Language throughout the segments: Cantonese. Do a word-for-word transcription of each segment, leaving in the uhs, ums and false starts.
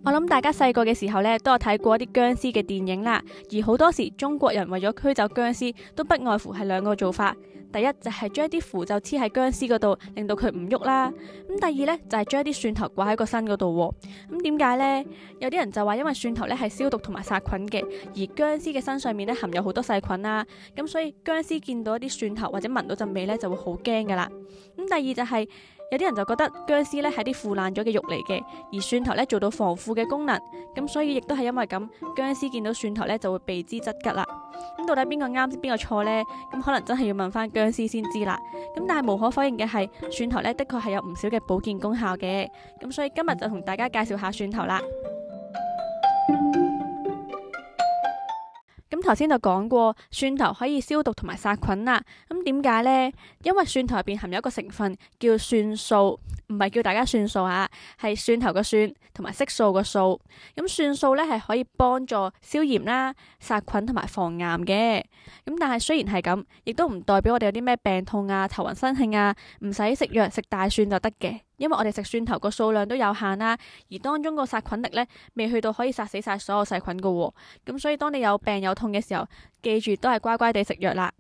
我諗大家細個嘅時候呢，都有睇過一啲僵屍嘅電影啦。而好多時中國人為咗驅走僵屍，都不外乎係兩個做法。第一就係將一啲符咒黐喺僵屍嗰度，令到佢唔喐啦。咁第二呢，就係將一啲蒜頭掛喺個身嗰度。咁點解呢？有啲人就話因為蒜頭呢係消毒同埋殺菌嘅，而僵屍嘅身上面呢含有好多細菌啦。咁所以僵屍見到一啲蒜頭或者聞到陣味呢，就會好驚噶啦。咁第二就係、是。有啲人就覺得僵屍咧係啲腐爛咗嘅肉嚟嘅，而蒜頭咧做到防腐嘅功能，咁所以亦都係因為咁，僵屍見到蒜頭咧就會避之則吉啦。咁到底邊個啱邊個錯呢？咁可能真係要問翻僵屍先知啦。咁但係無可否認嘅係，蒜頭咧的確係有唔少嘅保健功效嘅。咁所以今日就同大家介紹下蒜頭啦。咁頭先就講過，蒜頭可以消毒同埋殺菌啦。咁點解呢？因為蒜頭入邊含有一個成分叫蒜素，唔係叫大家算數吓，係蒜頭個蒜同埋色素個素。咁蒜素咧係可以幫助消炎啦、殺菌同埋防癌嘅。咁但係雖然係咁，亦都唔代表我哋有啲咩病痛啊、頭暈身㷫啊，唔使食藥食大蒜就得嘅。因為我哋食蒜頭個數量都有限啦，而當中個殺菌力呢，未去到可以殺死晒所有細菌噶。咁所以當你有病有痛嘅時候，記住都係乖乖地食藥啦。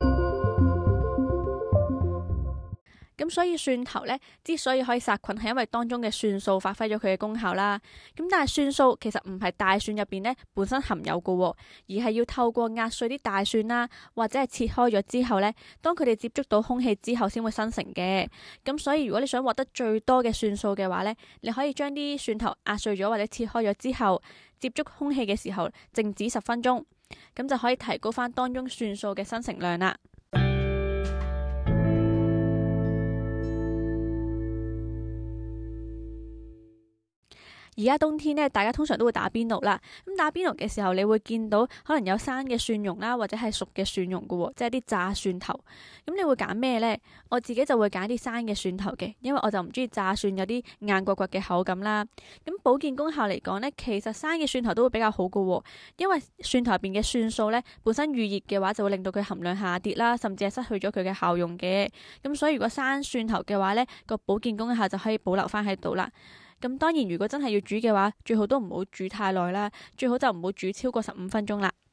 咁所以蒜頭呢，之所以可以殺菌，係因為當中嘅蒜素發揮咗佢嘅功效啦。咁但係蒜素其實唔係大蒜入邊呢本身含有噶，而係要透過壓碎啲大蒜啦，或者係切開咗之後呢，當佢哋接觸到空氣之後先會生成嘅。咁所以如果你想獲得最多嘅蒜素嘅話呢，你可以將啲蒜頭壓碎咗或者切開咗之後，接觸空氣嘅時候靜止十分鐘，咁就可以提高翻當中蒜素嘅生成量啦。而家冬天呢，大家通常都會打邊爐啦。咁打邊爐嘅時候，你會見到可能有生嘅蒜蓉啦，或者係熟嘅蒜蓉噶，即係啲炸蒜頭。咁你會揀咩呢？我自己就會揀啲生嘅蒜頭嘅，因為我就唔中意炸蒜有啲硬骨骨嘅口感啦。咁保健功效嚟講呢，其實生嘅蒜頭都會比較好噶，因為蒜頭入邊嘅蒜素呢，本身預熱嘅話就會令到佢含量下跌啦，甚至係失去咗佢嘅效用嘅。咁所以如果生蒜頭嘅話呢，個保健功效就可以保留翻喺度啦。咁當然，如果真係要煮嘅話，最好都唔好煮太耐啦，最好就唔好煮超過十五分鐘啦。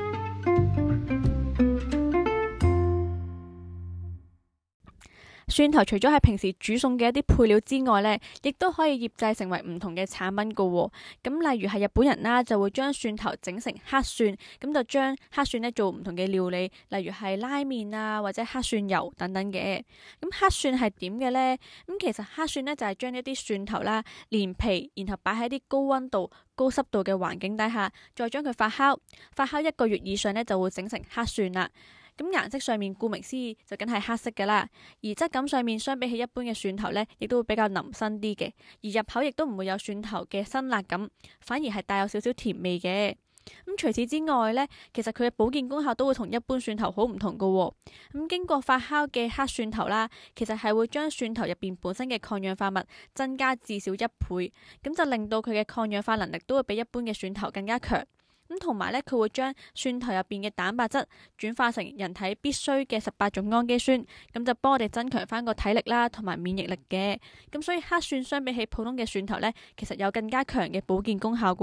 蒜頭除咗係平時煮餸嘅一啲配料之外呢，亦都可以醃製成為唔同嘅產品噶。咁例如係日本人啦，就會將蒜頭整成黑蒜，咁就將黑蒜呢做唔同嘅料理，例如係拉麵啊，或者黑蒜油等等嘅。咁黑蒜係點嘅呢？咁其實黑蒜呢，就係將一啲蒜頭啦，連皮，然後擺喺啲高溫度、高濕度嘅環境底下，再將佢發酵，發酵一個月以上呢，就會整成黑蒜啦。咁顏色上面顧名思義就梗係黑色噶啦，而質感上面相比起一般嘅蒜頭呢，亦都會比較腍身啲嘅，而入口亦都唔會有蒜頭嘅辛辣感，反而係帶有少少甜味嘅。咁除此之外呢，其實佢嘅保健功效都會同一般蒜頭好唔同噶。咁經過發酵嘅黑蒜頭啦，其實係會將蒜頭入邊本身嘅抗氧化物增加至少一倍，咁就令到佢嘅抗氧化能力都會比一般嘅蒜頭更加強。咁同埋咧，佢會將蒜頭入邊嘅蛋白質轉化成人體必需嘅十八種氨基酸，咁就幫我哋增強翻個體力啦，同埋免疫力嘅。咁所以黑蒜相比起普通嘅蒜頭呢，其實有更加強嘅保健功效噶。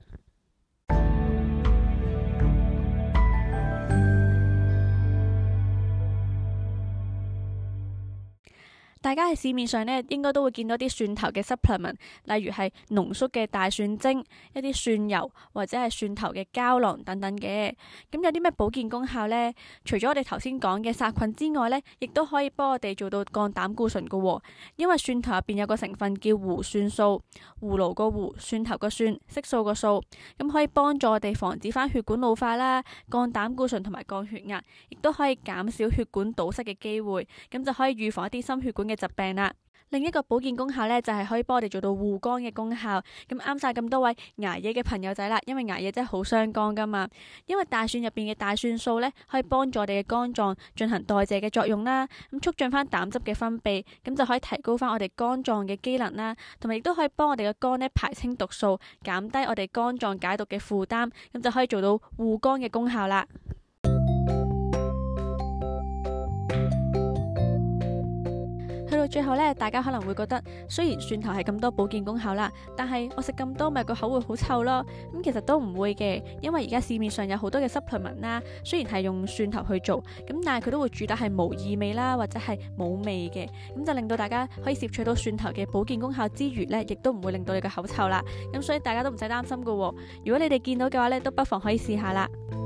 大家喺市面上呢，應該都會見到啲蒜頭嘅 supplement，例如係濃縮嘅大蒜精、一啲蒜油或者係蒜頭嘅膠囊等等嘅。咁有啲咩保健功效呢？除咗我哋頭先講嘅殺菌之外呢，亦都可以幫我哋做到降膽固醇噶。因為蒜頭入邊有個成分叫胡蒜素，葫蘆個胡，蒜頭個蒜，色素個素，咁可以幫助我哋防止翻血管老化啦，降膽固醇同埋降血壓，亦都可以減少血管堵塞嘅機會，咁就可以預防一啲心血管嘅疾病啦。另一個保健功效呢，就係可以幫我哋做到護肝嘅功效。咁啱晒咁多位捱夜嘅朋友仔啦，因為捱夜真係好傷肝噶嘛。因為大蒜入邊嘅大蒜素呢，可以幫助我哋嘅肝臟進行代謝嘅作用啦，咁促進翻膽汁嘅分泌，咁就可以提高翻我哋肝臟嘅機能啦，同埋亦都可以幫我哋嘅肝呢排清毒素，減低我哋肝臟解毒嘅負擔，咁就可以做到護肝嘅功效啦。去到最後呢，大家可能會覺得雖然蒜頭係咁多保健功效啦，但係我食咁多咪個口會好臭咯。咁其實都唔會嘅，因為而家市面上有好多嘅 supplement 啦，雖然係用蒜頭去做，咁但係佢都會主打係無異味啦，或者係冇味嘅，咁就令到大家可以攝取到蒜頭嘅保健功效之餘呢，亦都唔會令到你個口臭啦。咁所以大家都唔使擔心噶。如果你哋見到嘅話呢，都不妨可以試下啦。